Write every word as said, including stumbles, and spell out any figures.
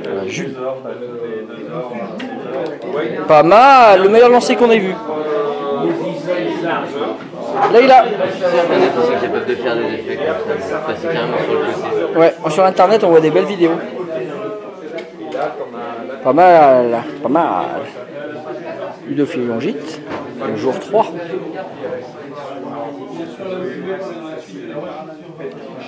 Voilà, Jules. Pas mal, le meilleur lancer qu'on ait vu. Là il a. Internet, ils sont capables de faire des effets comme ça, passer carrément sur le côté. Ouais, sur internet on voit des belles vidéos. Pas mal, pas mal. Ludophile Longite, le jour trois.